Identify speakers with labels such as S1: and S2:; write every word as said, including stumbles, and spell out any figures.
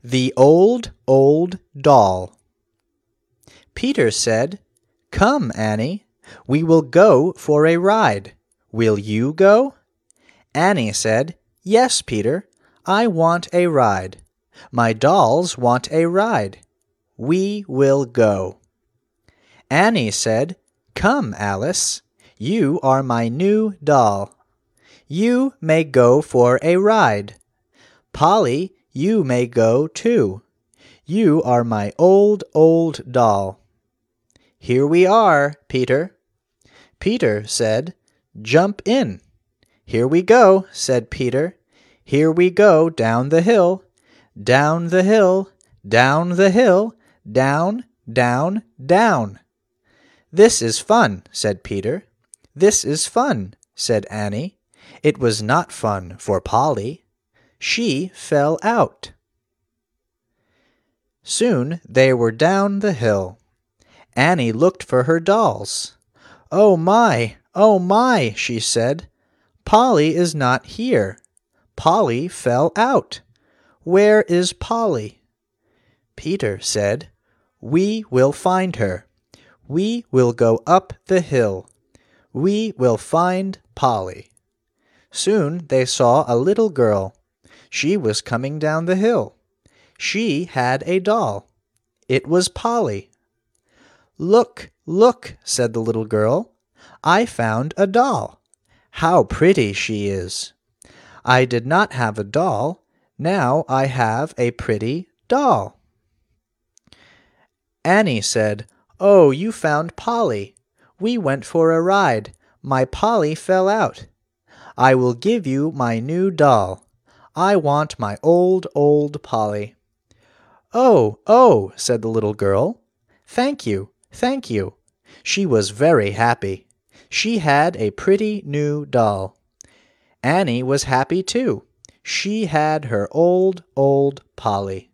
S1: The Old, Old Doll. Peter said, "Come, Annie, we will go for a ride. Will you go?" Annie said, "Yes, Peter, I want a ride. My dolls want a ride. We will go." Annie said, "Come, Alice, you are my new doll. You may go for a ride. Polly, you may go too. You are my old, old doll." "Here we are, Peter." Peter said, "Jump in." "Here we go," said Peter. "Here we go down the hill, down the hill, down the hill, down, down, down." "This is fun," said Peter. "This is fun," said Annie. It was not fun for Polly. She fell out. Soon they were down the hill. Annie looked for her dolls. "Oh my, oh my," she said. "Polly is not here. Polly fell out. Where is Polly?" Peter said, "We will find her. We will go up the hill. We will find Polly." Soon they saw a little girl. She was coming down the hill. She had a doll. It was Polly. "Look, look," said the little girl. "I found a doll. How pretty she is. I did not have a doll. Now I have a pretty doll." Annie said, "Oh, you found Polly. We went for a ride. My Polly fell out. I will give you my new doll. I want my old, old Polly." "Oh, oh," said the little girl. "Thank you, thank you." She was very happy. She had a pretty new doll. Annie was happy too. She had her old, old Polly.